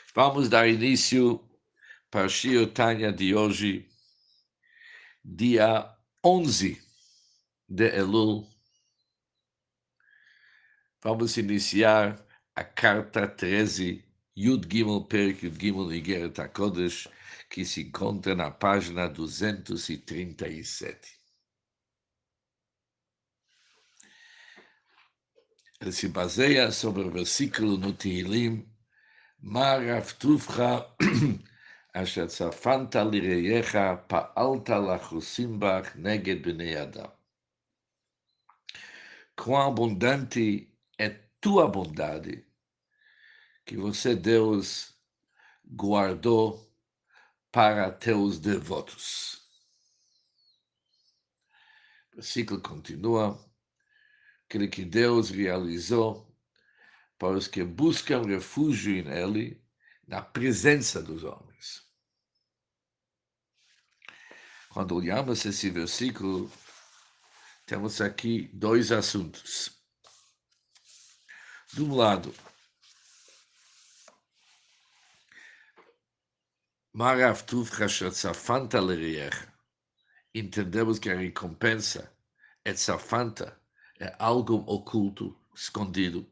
Vamos dar início para o Shir Tanya de hoje, dia 11 de Elul. Vamos iniciar a carta 13, Yud Gimel Perik Yud Gimel Igeret HaKodesh, que se encontra na página 237. Ele se baseia sobre o versículo no Tehillim, Mar Avtuvcha Asher tzafanta lireyecha pa'alta lachusim bach neged bnei Adam. Quão abundante é tua bondade que você, Deus, guardou para teus devotos. O versículo continua, aquele que Deus realizou para os que buscam refúgio nele, na presença dos homens. Quando olhamos esse versículo, temos aqui dois assuntos. De um lado, Marav Tuvcha Shetzafanta Leriecha. Entendemos que a recompensa é tzafanta, é algo oculto, escondido.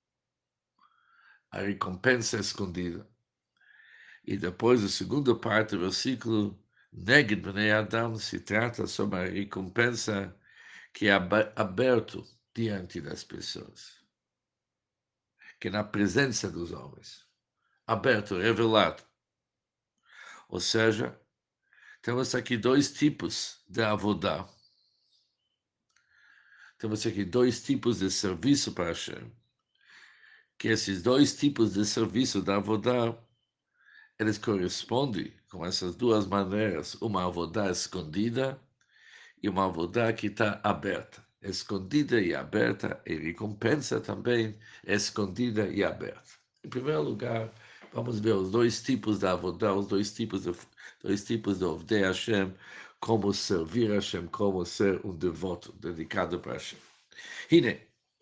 A recompensa é escondida. E depois, a segunda parte do versículo, Neged Bnei Adam, se trata sobre a recompensa que é aberto diante das pessoas, que é na presença dos homens, aberto, revelado. Ou seja, temos aqui dois tipos de avodá. Temos aqui dois tipos de serviço para Hashem. Que esses dois tipos de serviço da avodá, eles correspondem com essas duas maneiras, uma avodá escondida e uma avodá que está aberta. Escondida e aberta, e recompensa também escondida e aberta. Em primeiro lugar, vamos ver os dois tipos da avodá, os dois tipos de Ovdei Hashem, como servir Hashem, como ser um devoto dedicado para Hashem. Hine,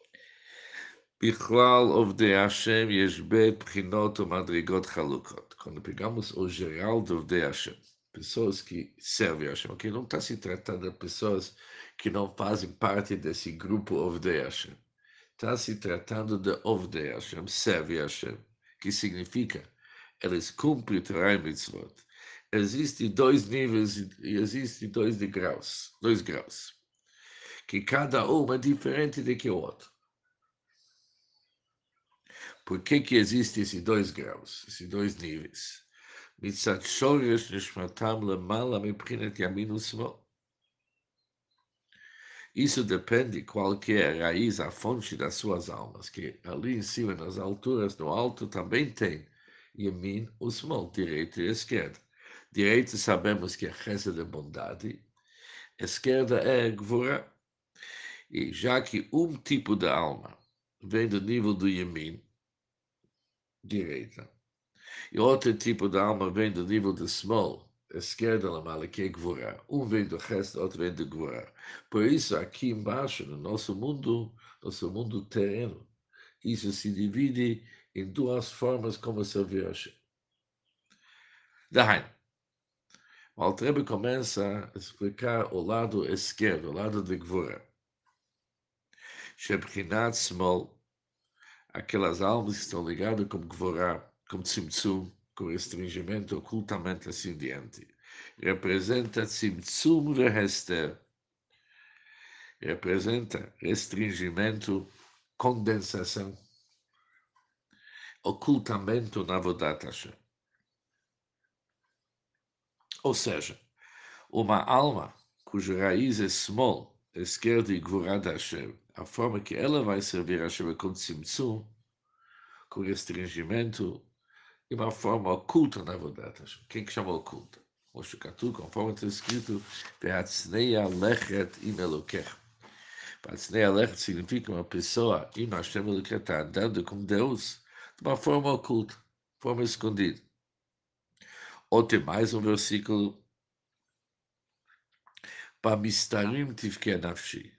Bichlal Ovdei Hashem yesh bet bchinot umadrigot chalukot. Quando pegamos o geral de Ovdei Hashem, pessoas que servem a Hashem, que não está se tratando de pessoas que não fazem parte desse grupo Ovdei Hashem. Está se tratando de Ovdei Hashem, serve a Hashem, que significa eles cumprem Torah e Mitzvot. Existem dois níveis e existem dois graus, que cada um é diferente do que o outro. Por que existem esses dois graus, esses dois níveis? Mitzat shoresh nishmatam lemala mibchinet yamin u'smol. Isso depende qual que é a raiz, a fonte das suas almas, que ali em cima, nas alturas, no alto, também tem yamin u'smol, direita e esquerda. Direita sabemos que é reza de bondade, esquerda é gvura. E já que um tipo de alma vem do nível do yamin, direita, e outro tipo de alma vem do nível de small, esquerda na mala, que é Gvurah. Um vem do resto, outro vem de Gvurah. Por isso, aqui embaixo, no nosso mundo terreno, isso se divide em duas formas como servir a Hashem. Daí, o Alter começa a explicar o lado esquerdo, o lado de Gvurah. Shebchinat small, aquelas almas que estão ligadas com Gvurah, com Tzimtzum, com restringimento, ocultamente assim diante. Representa Tzimtzum Vehester. Representa restringimento, condensação, ocultamento na Avodat Hashem. Ou seja, uma alma cuja raiz é small, esquerda e Gvurah Hashem, a forma que ela vai servir a Hashem é com Tzimtzum, com restringimento, e uma forma oculta na Avodat Hashem. Quem que chama oculta? O Shukatu, conforme está escrito, Ve'atzneia lechet im Elokech. Ve'atzneia lechet significa uma pessoa, im Hashem Elokech, está andando com Deus de uma forma oculta, forma escondida. Ou tem mais um versículo, Bamistarim tivke nafshi.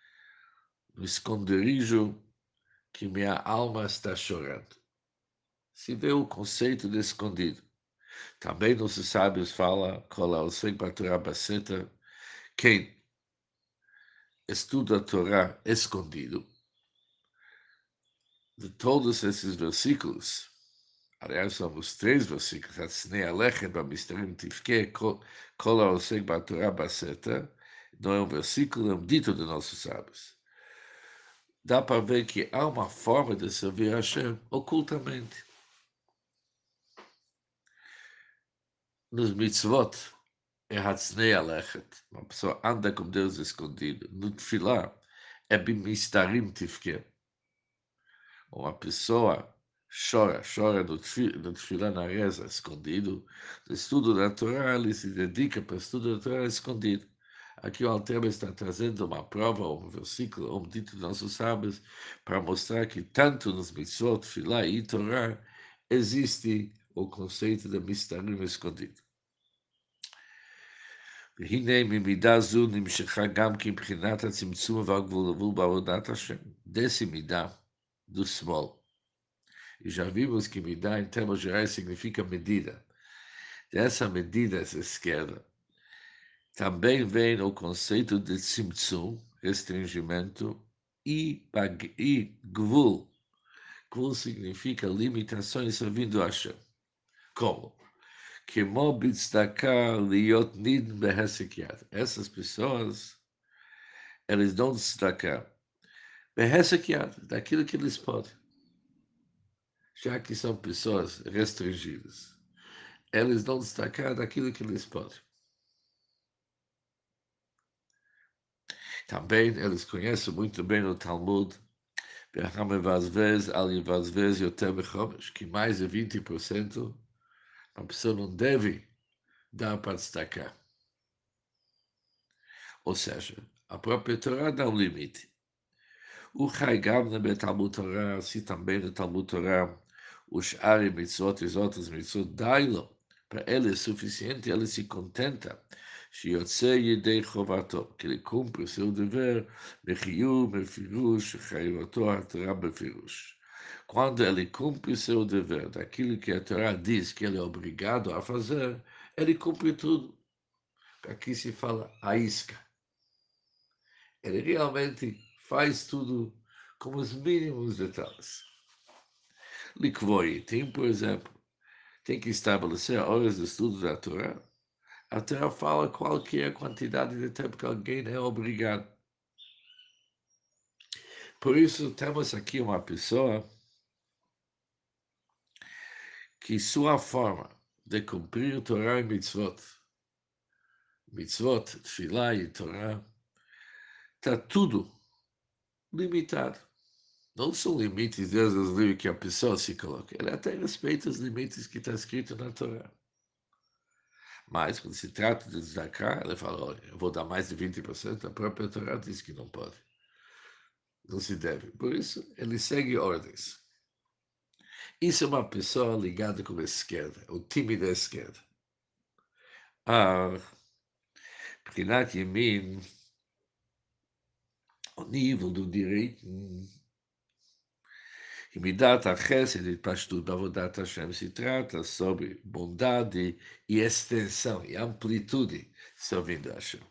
No esconderijo que minha alma está chorando. se vê o conceito de escondido. Também nossos sábios falam, quem estuda a Torá escondido, de todos esses versículos, aliás, são os três versículos, Hatznei Alechem, Bamisterim Tivke, Kol Haosek Batorá Baseta, não é um versículo, é um dito de nossos sábios. Dá para ver que há uma forma de servir a Hashem ocultamente. Nos mitzvot, é Hatznei Alechet, uma pessoa anda com Deus escondido. No Tfilah, é Bimistarim Tivke. Uma pessoa chora no tefilá na reza, escondido. No estudo da Torá, ele se dedica para o estudo da Torá escondido. Aqui o Alter está trazendo uma prova, um versículo, um dito de nossos sábios, para mostrar que tanto nos mitzvot, tefilá e Torá, existe o conceito de mistarim escondido. והנה ממידה זו נמשכה גם כי מבחינת הצמצום והגבול בעבודת השם. דסי מידה, do small. E já vimos que midá, em termos gerais, significa medida. Dessa medida, essa esquerda, também vem o conceito de tzimtzum, restringimento, e gvul. Gvul significa limitações servindo a Hashem. Como? Que mobitzedakah liot nid behesekiat. Essas pessoas, eles dão tzedakah behesekiat, daquilo que eles podem. Já que são pessoas restringidas. Eles não destacar daquilo que eles podem. Também eles conhecem muito bem o Talmud, que mais de 20% a pessoa não deve dar para destacar. Ou seja, a própria Torá dá um limite. O Chaigam na Talmud Torá, assim também no Talmud Torá, os Ari Mitzvot e os outros Mitzvot, dá-lo. Para ele é suficiente, ele se contenta. שיוצא ידי חובתו, כי לקום seu dever, מחיוב, מפירוש, חיובתו התורה בפירוש. Quando ele cumpre seu dever, daquilo que a Torá diz que ele é obrigado a fazer, ele cumpre tudo. Aqui se fala a isca. Ele realmente faz tudo com os mínimos detalhes. Likvoi tem, por exemplo, tem que estabelecer horas de estudo da Torá. A Torá fala qual que é a quantidade de tempo que alguém é obrigado. Por isso, temos aqui uma pessoa que sua forma de cumprir Torá e mitzvot, tefilá e Torá, está tudo limitado. Não são limites desde os livros que a pessoa se coloca. Ele até respeita os limites que está escrito na Torá. Mas, quando se trata de Zaká, ele fala, olha, eu vou dar mais de 20%, a própria Torá diz que não pode. Não se deve. Por isso, ele segue ordens. Isso é uma pessoa ligada com a esquerda, o time da esquerda. מבחינת ימין, o nível do direito, e midat chesed e pashtud bavodat Hashem, se trata sobre bondade e extensão e amplitude servindo a Hashem.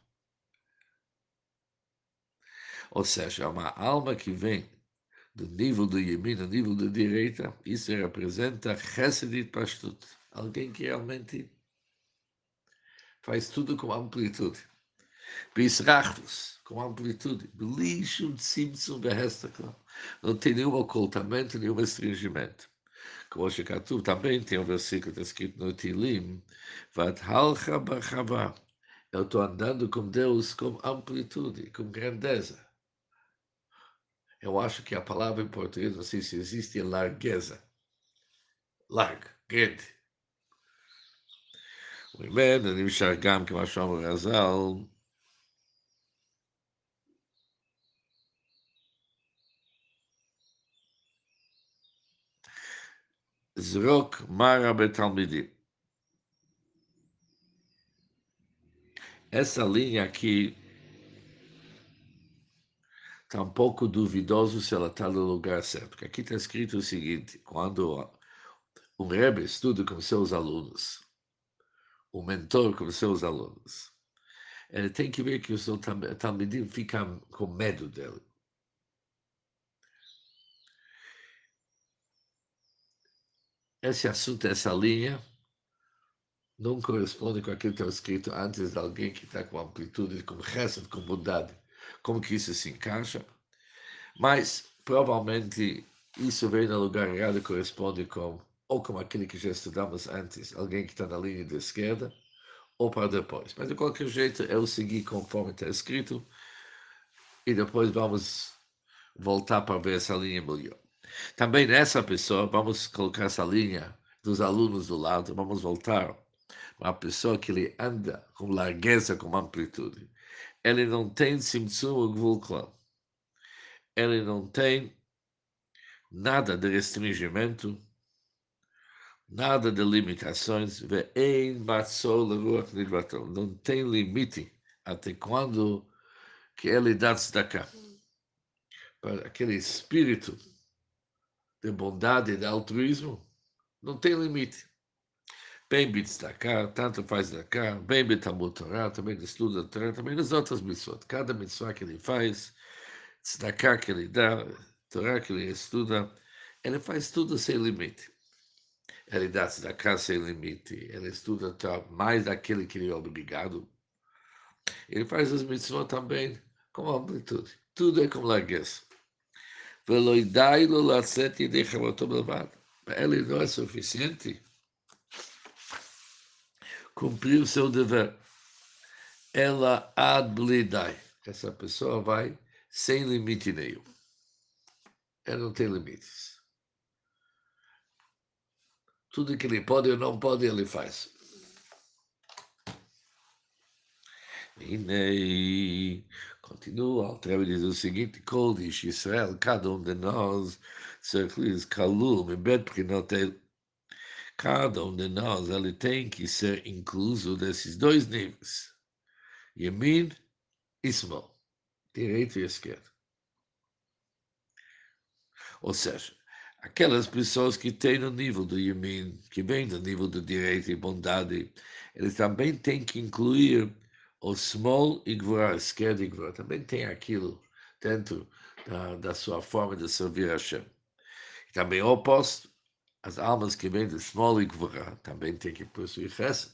Ou seja, uma alma que vem do nível do Yemin, do nível da direita, isso representa chesed e pashtud, alguém que realmente faz tudo com amplitude. Bisrachtus, com amplitude, belishum tzimtzum behestaklam. Não tem nenhum ocultamento, nenhum restringimento. Como Shekatu também tem um versículo que está escrito no Tilim, Vathalcha bachava. Eu estou andando com Deus com amplitude, com grandeza. Eu acho que a palavra em português, não sei se existe, é largueza. Largo, grande. וממנו נמשך גם, כמו שאומר רז"ל, זרוק מרה בתלמידים. Essa linha aqui está um pouco duvidoso se ela está no lugar certo. Porque aqui está escrito o seguinte: quando Rebbe estuda com seus alunos, o mentor com seus alunos. Ele tem que ver que o seu talmidim fica com medo dele. Esse assunto, essa linha, não corresponde com aquilo que está escrito antes de alguém que está com amplitude, com resto, com bondade. Como que isso se encaixa? Mas, provavelmente, isso vem no lugar errado e corresponde com, ou com aquele que já estudamos antes, alguém que está na linha da esquerda, ou para depois. Mas, de qualquer jeito, eu segui conforme está escrito, e depois vamos voltar para ver essa linha melhor. Também nessa pessoa, vamos colocar essa linha dos alunos do lado, vamos voltar para a pessoa que ele anda com largueza, com amplitude. Ele não tem simtsum ou gvul. Ele não tem nada de restringimento, nada de limitações. Não tem limite até quando que ele dá tzedakah. Para aquele espírito de bondade e de altruísmo, não tem limite. Bem tzedakah, tanto faz tzedakah, bem Talmud Torah, também estuda Torah, também nas outras mitzvot. Cada mitzvah que ele faz, tzedakah que ele dá, Torah que ele estuda, ele faz tudo sem limite. Ele dá tzedakah sem limite, ele estuda mais daquele que ele é obrigado. Ele faz as mitzvot também com amplitude. Tudo é com largueza. Para ele não é suficiente cumprir o seu dever. Ela ad blidai. Essa pessoa vai sem limite nenhum. Ela não tem limites. Tudo que ele pode ou não pode, ele faz. Hine, continua, Altrebe diz o seguinte, Kol diz Israel, cada de nós, Serclis, Kalul, Mibet Prinotel, cada de nós, ele tem que ser incluso desses dois níveis, Yemin e Smol, direito e esquerdo. Ou seja, aquelas pessoas que têm o nível do Yemin, que vêm do nível do direito e bondade, eles também têm que incluir o small e gvura, esquerda e gvura. Também tem aquilo dentro da sua forma de servir a Hashem. E também o oposto, as almas que vêm do small e gvura também têm que possuir chesed.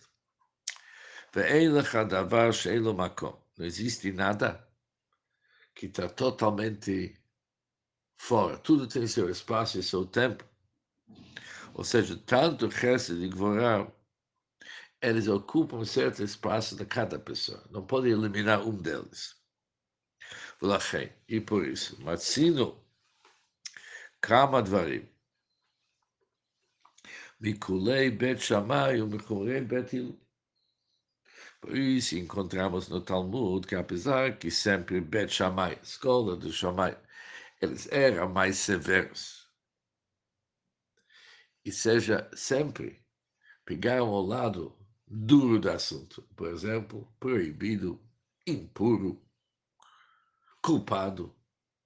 Não existe nada que está totalmente fora. Tudo tem seu espaço e seu tempo. Ou seja, tanto Chesed e Gvorá, eles ocupam um certo espaço de cada pessoa. Não pode eliminar um deles. E por isso, Matzino, Kama Dvarim, Mikulei Bet Shammai e Mikulei Bet Hillel. Por isso, encontramos no Talmud que, apesar que sempre Bet Shammai, escola do Shammai, eles eram mais severos. E seja sempre pegaram o lado duro do assunto. Por exemplo, proibido, impuro, culpado,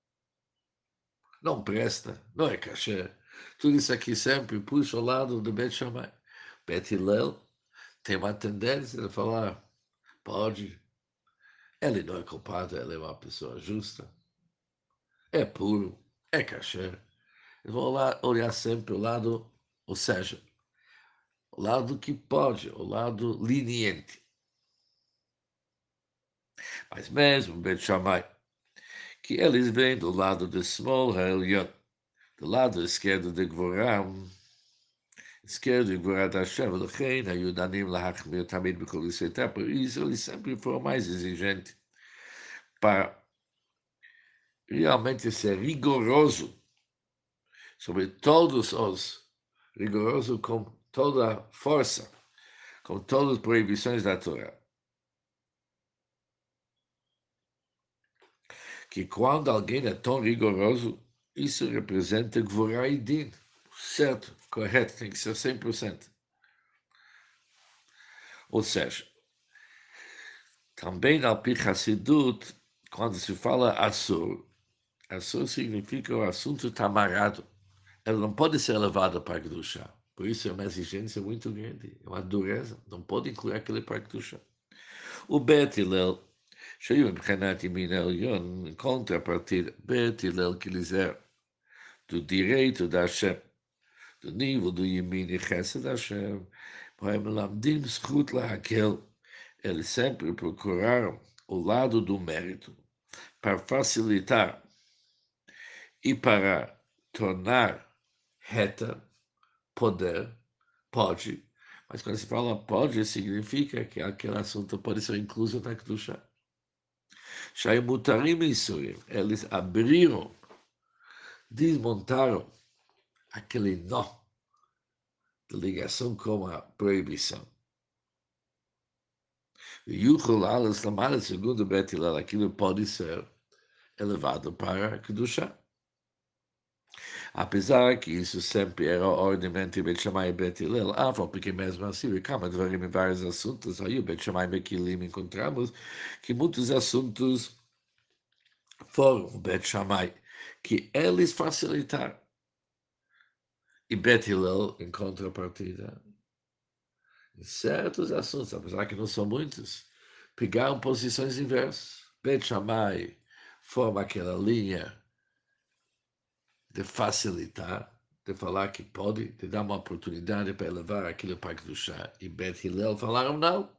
não presta, não é cachê. Tudo isso aqui sempre puxa o lado do Bet Shammai. Bet Hillel tem uma tendência de falar, pode, ele não é culpado, ele é uma pessoa justa, é puro, é cachê. Eu vou lá olhar sempre o lado, ou seja, o lado que pode, o lado leniente. Mas mesmo Bet Shammai, que eles vêm do lado de Small Ha'elyon, do lado esquerdo de Gvoram, esquerdo de Gvorat Hashem, Lechein, Ayudanim Lahachmir Tamid B'Kol Yisrael. Por isso, eles sempre foram mais exigentes para realmente ser rigoroso sobre todos os, rigoroso com toda a força, com todas as proibições da Torá. Que quando alguém é tão rigoroso, isso representa Gvorá e Din. Certo, correto, tem que ser 100%. Ou seja, também na Alpi Hassidut, quando se fala Assur, Assur significa o assunto está amarrado. Ele não pode ser levado para a Gdusha. Por isso é uma exigência muito grande, é uma dureza, não pode incluir aquele parque do chão. O Bet Hillel, cheio de Renat e Minelion, em contrapartida, Bet Hillel que lhes é do direito da Hashem, do nível do Yemin e Chesed da Hashem, para Melamdim Zchut Lahakel, eles sempre procuraram o lado do mérito, para facilitar e para tornar reta, poder, pode, mas quando se fala pode, significa que aquele assunto pode ser incluso na Kedusha. Shai Mutarim e Surim, eles abriram, desmontaram aquele nó de ligação com a proibição. E Yuchel Alas Lamada, segundo Bet Hillel, aquilo pode ser elevado para a Kedusha. Apesar que isso sempre era a ordem entre Bet Shammai e Bet Hillel, porque mesmo assim, e Kama Dvarim em vários assuntos, aí o Bet Shammai e Bet Hillel encontramos que muitos assuntos foram o Bet Shammai, que eles facilitaram. E Bet Hillel, em contrapartida, em certos assuntos, apesar que não são muitos, pegaram posições inversas. Bet Shammai forma aquela linha de facilitar, de falar que pode, de dar uma oportunidade para elevar aquilo para o chá. E Bet Hillel falaram não.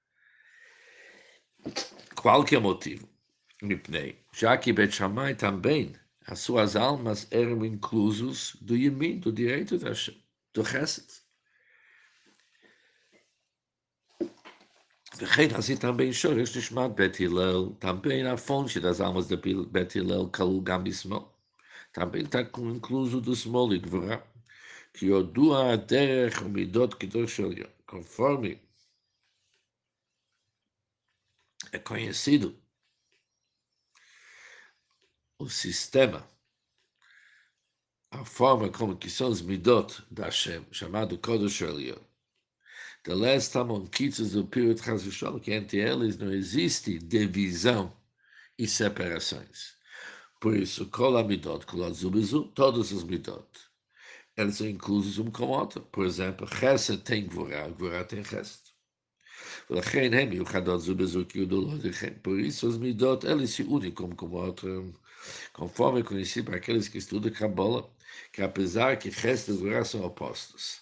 Qualquer motivo. Mipnei. Já que Bet Shammai também, as suas almas eram inclusos do Yemin, do direito da Hashem, do Chesed. Vechen assim também Shoresh Nishmat Bet Hillel, também a fonte das almas de Bet Hillel, Kalu Gam Bismol. Também está incluso do Smol e Gvorá. Que Odua Derech Midot Kedosh Elyon, conforme é conhecido o sistema, a forma como que são os Midot da Hashem, chamado Kodosh Elyon. The last time on Kitzes do Pirut Chazvishol, que entre eles não existe divisão e separações. Por isso, Kol Midot, Kol Azubizu, todos os Midot, eles são inclusos um com o outro. Por exemplo, Chesed tem Gvorá, Gvorá tem Chesed. Por isso, os midot, eles se unem como outro, conforme é conhecido para aqueles que estudam Kabbalah, que apesar que Chesed e Gvorá são opostos,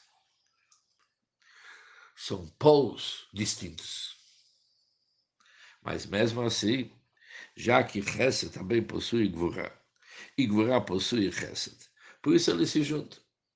são polos distintos. Mas mesmo assim, já que Chesed também possui Gvorá, e Gvorá possui Chesed, por isso eles se juntam.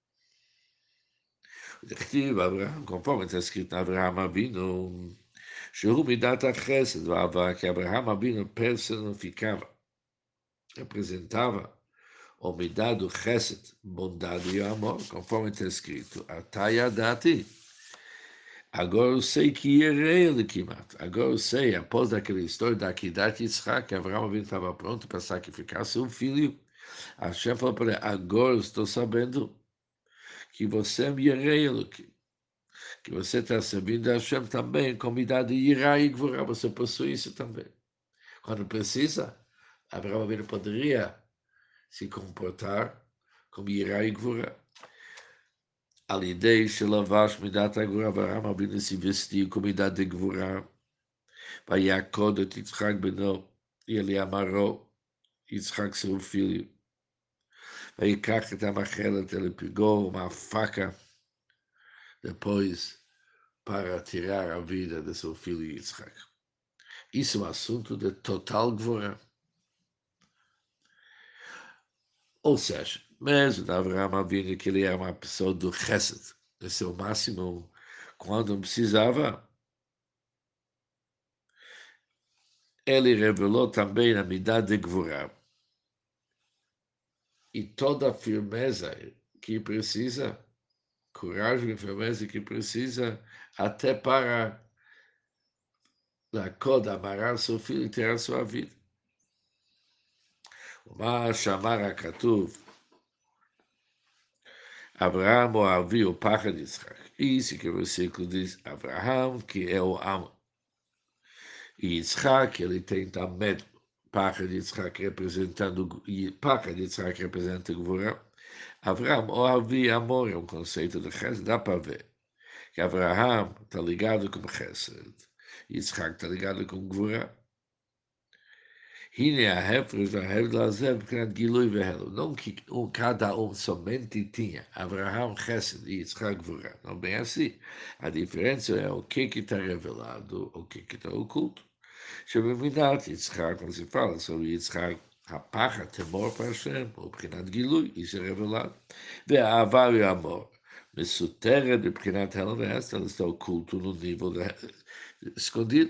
Conforme está escrito em Abraham Avinu, שהוא מידת החסד והאהבה, que Abraham Abino personificava, representava o midat do chesed, bondade e amor, conforme está escrito, Atayadati. Agora eu sei que irei ele Kimat. Agora eu sei, após aquela história da Akedat Yitzhak, que Abraham Abino estava pronto para sacrificar seu filho, Hashem falou para ele, agora eu estou sabendo que você me irei ele, que você está servindo a Hashem também, com midat de Irá e Gvorá, você possui isso também. Quando precisa, Abraão Avinu poderia se comportar como Irá e Gvura. Alidei Shelavash Midat Agura, Abraão Avinu se vestiu com Midat de Gvura. Vaiakod et Yitzhak Beno, e ele amarrou Yitzhak seu filho. Vaikach et Amachelet, ele pegou uma faca depois para tirar a vida de seu filho Yitzhak. Isso é um assunto de total Gvura. Ou seja, mesmo Abraham Avinu, que ele era uma pessoa do Chesed, no seu máximo, quando precisava, ele revelou também a midade de Gvurah. E toda a firmeza que precisa, coragem e firmeza que precisa, até para a coda amarrar seu filho e ter a sua vida. Mas chamar a Katuv, Abraham o Avi, o Pachad de Yitzhak. Isso que o versículo diz, Abraham, que é o amo. E Yitzhak, ele tem também Pachad de Yitzhak representando, e Pachad de Yitzhak representa Gvurah, Avraham, ou Avi Amor, é um conceito de Chesed, dá para ver que Avraham está ligado com Chesed, Yitzhak está ligado com Gvura. Hine a Hefres, a Hefres Lazev, Krat Gilui Vehelo. Não que cada somente tinha Avraham Chesed e Yitzhak Gvura. Não bem assim. A diferença é o que está revelado, o que está oculto. שבמידת יצחק, כמו שפעל, sobre יצחק, הפחד, תמור פרשם, או מבחינת גילוי, איש הרבלת, והאהבה והאמור, מסותרת מבחינת הלם והסתר, está oculto no nível escondido.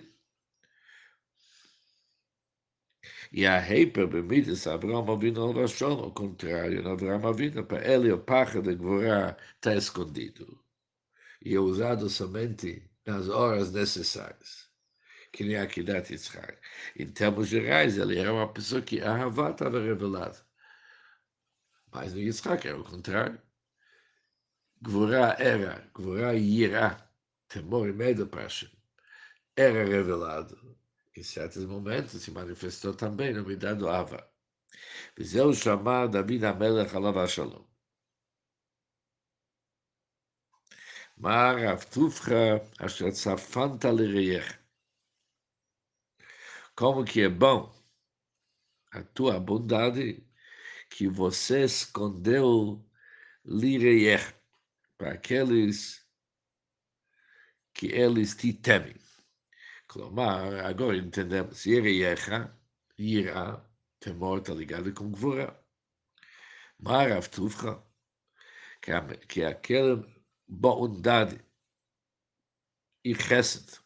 E a heiper bemidas Abraão Avinu ao Rashon, ao contrário, no Abraão Avinu, para ele o pacha de Gvorá está escondido. E é usado somente nas horas necessárias. Que nem a Kedat Yitzhak. Em termos gerais, ele era uma pessoa que a Havá estava revelada. Mas no Yitzhak era o contrário. Gvorá Yirá, temor e medo para Hashem, era revelado. Em certos momentos se manifestou também no Midah do Ava. וזהו שמע דוד המלך עליו השלום. מה רב טובך אשר צפנת לרעייך? Como que é bom a tua bondade que você escondeu lireier para aqueles que eles te temem. Klamar, agora entendemos, Yereyecha, Yirá, temor está ligado com Gvura. Marav Tuvcha, que é aquela bondade e Chesed,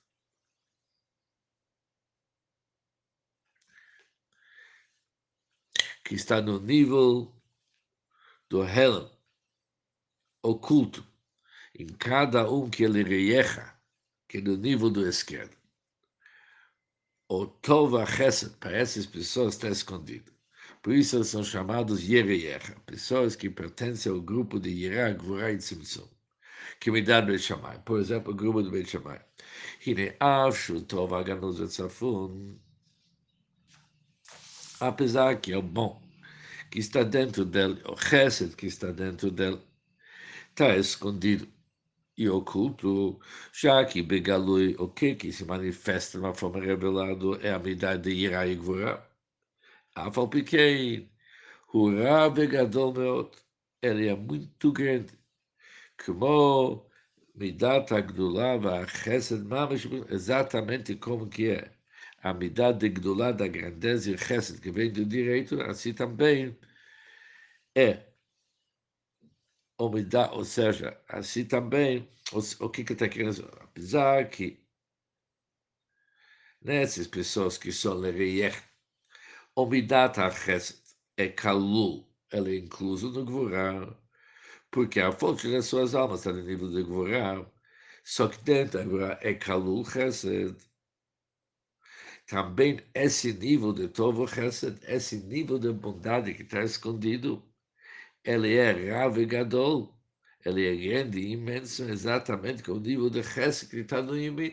que está no nível do Helen, oculto, em cada que ele reiecha, que é no nível do esquerdo. O Tova Chesed, para essas pessoas, está escondido. Por isso eles são chamados Yereyecha, pessoas que pertencem ao grupo de Yerá, Gvurá e Tzimtzum, que me dá Beit Shammai. Por exemplo, o grupo do Beit Shammai. Hine Avshu Tov Haganuz Vetzafun, apesar que é o bom que está dentro dele, o Chesed que está dentro dele, está escondido e oculto, já que Begalui, o que se manifesta de uma forma revelada é a medida de Yerá e Gvurá. אף על פי כן, הוא רב וגדול מאוד, ele é muito grande, כמו מידת הגדולה והחסד ממש, exatamente como que é a midat de gdulá da grandeza e chesed que vem do direito, assim também é o midat, ou seja, assim também, o que está querendo dizer? Apesar que nessas pessoas que são lereyech, o midat ha-chesed é kalul, ele é incluso no gvurá, porque a fonte das suas almas está no nível de Gvorá, só que dentro agora é Kalul Chesed. Também esse nível de Tovo Chesed, esse nível de bondade que está escondido, ele é Rav e Gadol, ele é grande e imenso, exatamente com o nível de Chesed que está no Yimim.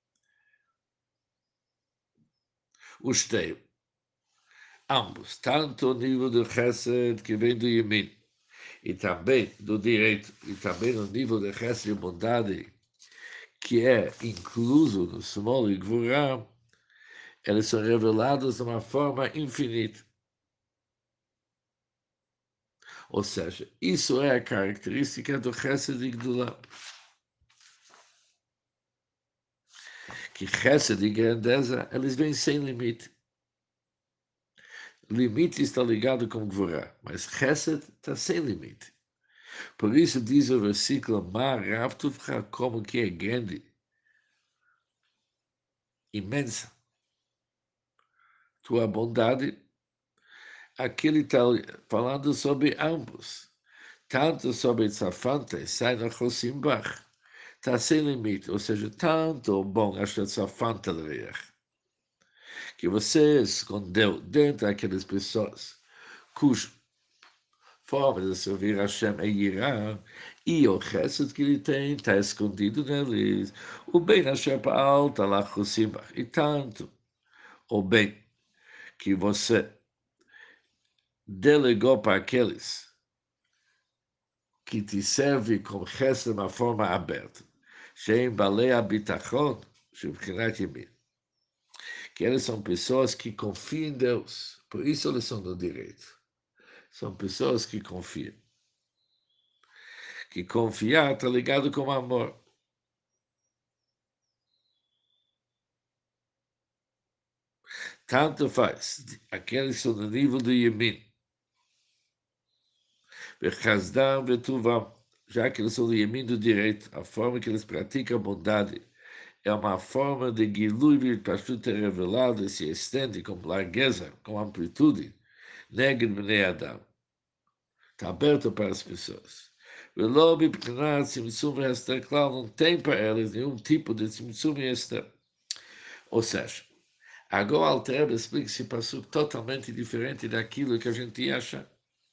Os teus, ambos, tanto o nível de Chesed que vem do Yimim, e também do direito, e também o nível de Chesed e bondade que é incluso no Smol e Gvurá, eles são revelados de uma forma infinita. Ou seja, isso é a característica do Chesed e Gdulá. Que Chesed e grandeza, eles vêm sem limite. Limite está ligado com Gvurá, mas Chesed está sem limite. Por isso diz o versículo, Mar Ravtuvcha, como que é grande, imensa. Tua bondade, aqui ele está falando sobre ambos. Tanto sobre Tzafante, sai na Chosimbach, está sem limite, ou seja, tanto bom acho Tzafante que você escondeu dentro daquelas pessoas cuja forma de servir a Hashem é Irã, e o resto que ele tem está escondido neles. O bem Hashem alta lá Chosimbach, e tanto o bem que você delegou para aqueles que te serve com Chesed de uma forma aberta. Shem Balei Abitachon, Shebchinat Yemin. Que eles são pessoas que confiam em Deus. Por isso eles são do direito. São pessoas que confiam. Que confiar está ligado com amor. Tanto faz. Aqueles que são no nível do Yemin. Bechazdam Vetuvam. Já que eles são do Yemin do direito, a forma que eles praticam a bondade é uma forma de Gilui Virpashut revelada e se estende com largueza, com amplitude, negro Bnei Adam. Está aberto para as pessoas. Velo Bipnat Tzimtzum Hester Klal não tem para eles nenhum tipo de Tzimtzum Hester. Ou seja, agora o Alter explica esse passuco totalmente diferente daquilo que a gente acha.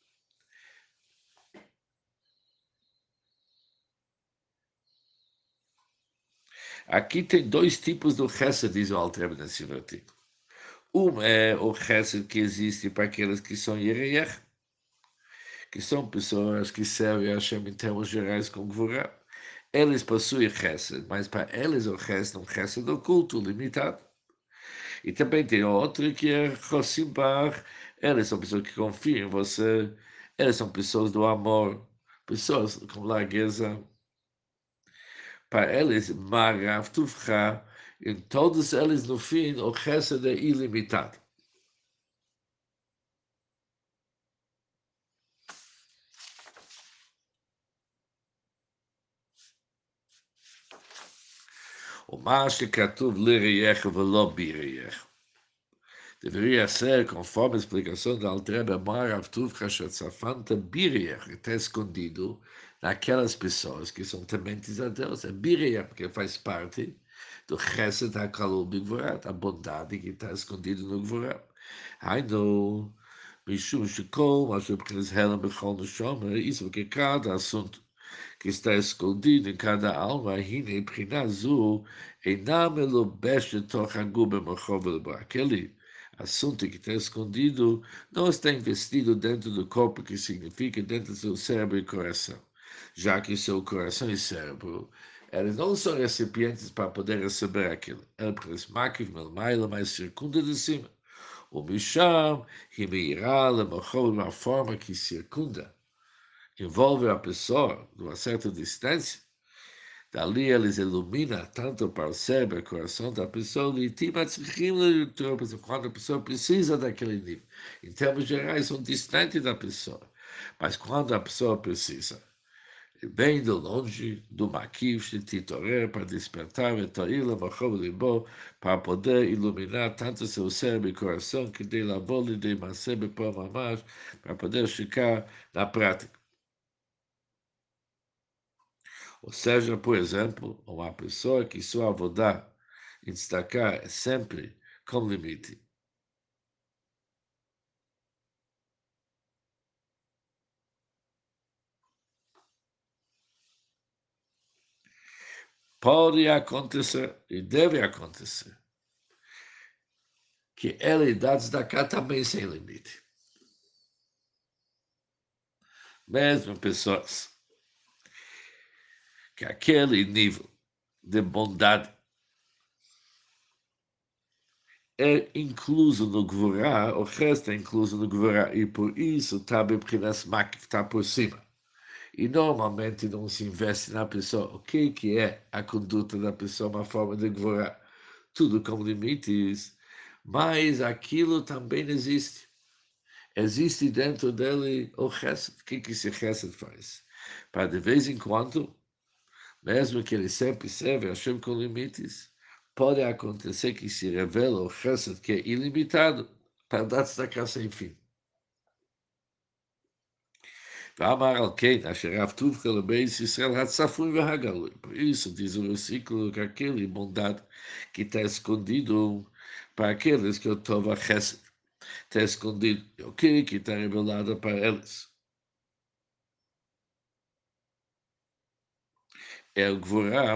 Aqui tem dois tipos do Chesed, diz o Alter nesse versículo. Um é o Chesed que existe para aqueles que são Yereyech, que são pessoas que servem a Hashem em termos gerais com Gvurah. Eles possuem Chesed, mas para eles o Chesed é um Chesed oculto, limitado. E também tem outro que é Chosim Bar. Eles são pessoas que confiam em você. Eles são pessoas do amor, pessoas com largueza. Para eles, Marav Tuvcha, em todos eles, no fim, o Chesed é ilimitado. O Mashe Katuv Lireyech Velo Bireyech. Deveria ser, conforme a explicação da Altreba, Marav Tuvcha Shatzafanta Bireyech, que está escondido naquelas pessoas que são tementes a Deus. É Bireyech, porque faz parte do Chesed HaKalul Bigvorat, a bondade que está escondida no Gvorat. Hainu, Mishum Shekol, Mashu B'chinas Helam B'chol Neshama, isso porque cada assunto que está escondido em cada alma, Hine B'china Zu, Einam Melubeshet Toch Hagu B'machov Elba. Aquele assunto que está escondido não está investido dentro do corpo, que significa dentro do seu cérebro e coração, já que seu coração e cérebro eles não são recipientes para poder receber aquilo. Eles maquiv melmaila, mas circunda de cima. O Misham, Himeirá, Lemachol, uma forma que circunda, envolve a pessoa numa certa distância. Dali eles iluminam tanto para o cérebro e o coração da pessoa, e quando a pessoa precisa daquele nível. Em termos gerais, são distantes da pessoa. Mas quando a pessoa precisa, vem de longe do Maquiv, de Titorer, para despertar Vetoila, Machov Libo, para poder iluminar tanto seu cérebro e coração, que de lavou e de Masebe por Mamash, para poder ficar na prática. Ou seja, por exemplo, uma pessoa que sua avodá em destacar é sempre com limite. Pode acontecer e deve acontecer que ele dá destacar também sem limite. Mesmo pessoas que aquele nível de bondade é incluso no Gvorá, o resto é incluso no Gvorá, e por isso está Bebchinas Mak, está por cima. E normalmente não se investe na pessoa. O que é a conduta da pessoa, uma forma de Gvorá? Tudo com limites, mas aquilo também existe. Existe dentro dele o Chesed. O que esse Chesed faz? Para de vez em quando, mesmo que ele sempre serve a Hashem com limites, pode acontecer que se revela o Chesed que é ilimitado para dar destacar sem fim. ואמר על כן, אשר רב טובך לבייס ישראל הצפוי והגלוי. Por isso, diz o versículo que aquele bondade que está escondido para aqueles que o Tova Chesed está escondido. O que está revelado para eles? É o Gvorá.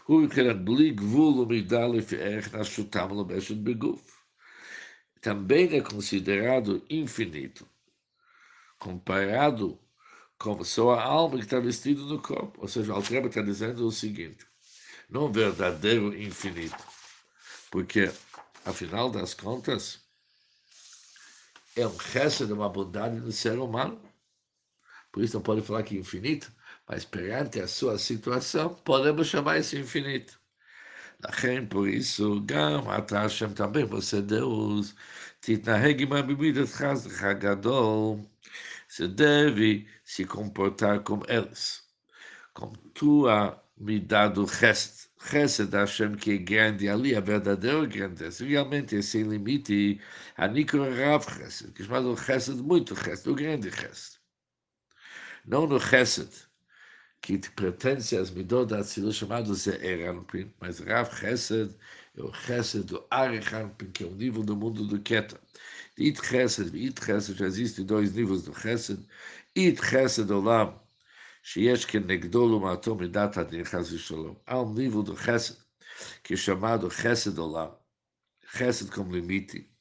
Também é considerado infinito, comparado com sua alma que está vestida no corpo. Ou seja, o Alter Rebbe está dizendo o seguinte, não verdadeiro infinito, porque, afinal das contas, é um resto de uma bondade do ser humano. Por isso não pode falar que é infinito, mas perante a sua situação, podemos chamar isso infinito. לכן, por isso, גם אתה השם também, você Deus, תתנהג עם במידתך, זכרך הגדול, você deve se comportar como eles, com tua midá do Chesed da Hashem, que é grande ali, a verdadeira grandeza, realmente é sem limite, a Nikro Rav Chesed, que é chamado Chesed, muito Chesed, o grande Chesed. Não no Chesed, que pertence às midot da Atzilut, chamado Ze'er Anpin, mas Rav Chesed é o Chesed do Arich Anpin, que é o nível do mundo do Keter. It Chesed e It Chesed, já existem dois níveis do Chesed. It Chesed Olam, שיש כנגדו לעומתו מידת הדין חס ושלום. Há um nível do Chesed, que é chamado Chesed Olam, Chesed como limite.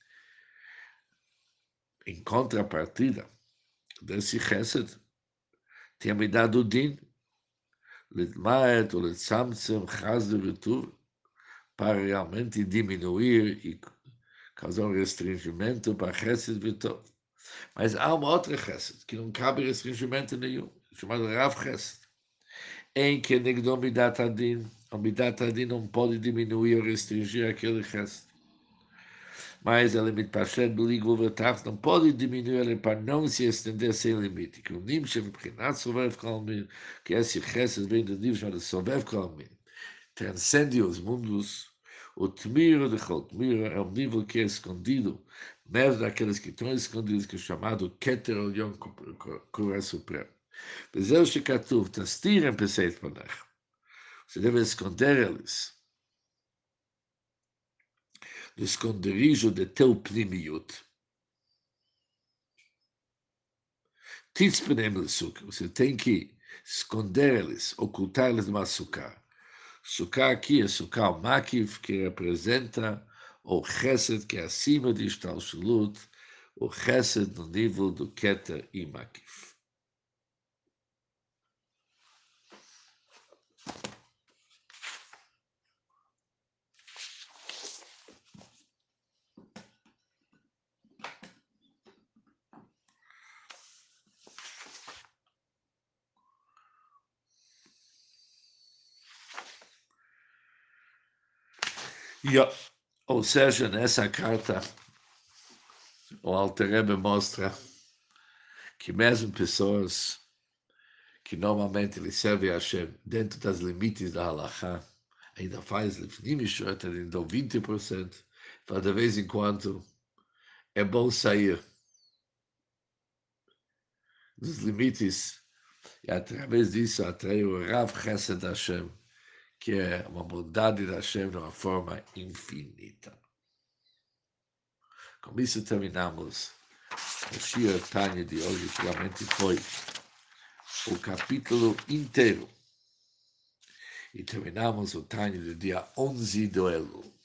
Em contrapartida desse Chesed, tem a midá do Din, Litmaet ou Litzamtzem, Chaz de Vitur, para realmente diminuir e causar um restringimento para Chesed Vitor. Mas há uma outra Chesed, que não cabe restringimento nenhum, chamado Rav Chesed, em que negdou Midat Adin, o Midat Adin não pode diminuir ou restringir aquele Chesed. Mas ele mitpashet b'ligvul v'tach, não pode diminuir ele para não se estender sem limite. Que o Nimshe v'pchinat sovev kol min, que esse Chesed vem do Nimshe chamado sovev kol min, transcende os mundos. O Tmira de Chol Tmira é um nível que é escondido, mesmo daqueles que estão escondidos, que é chamado Keter Elyon, Cura Supremo. וזהו שכתוב, תסתירם פשעי פניך. Você deve esconder eles do esconderijo de teu pnimiut. Titzpenem l'sukkah. Você tem que esconder eles, ocultar eles numa sukkah. Sukkah aqui é sukkah makiv, que representa o chesed, que é acima de Ishtalshalut, o chesed no nível do keter e makiv. Ou seja, nessa carta, o Alter Rebbe mostra que mesmo pessoas que normalmente lhe servem a Hashem dentro das limites da halakha, ainda faz lifnim shot, ainda 20%, para de vez em quando é bom sair dos limites e através disso atrair o Rav Chesed Hashem, que é uma bondade da Hashem de uma forma infinita. Com isso terminamos o Shir Tanya de hoje, que realmente foi o capítulo inteiro. E terminamos o Tanya do dia 11 do Elul.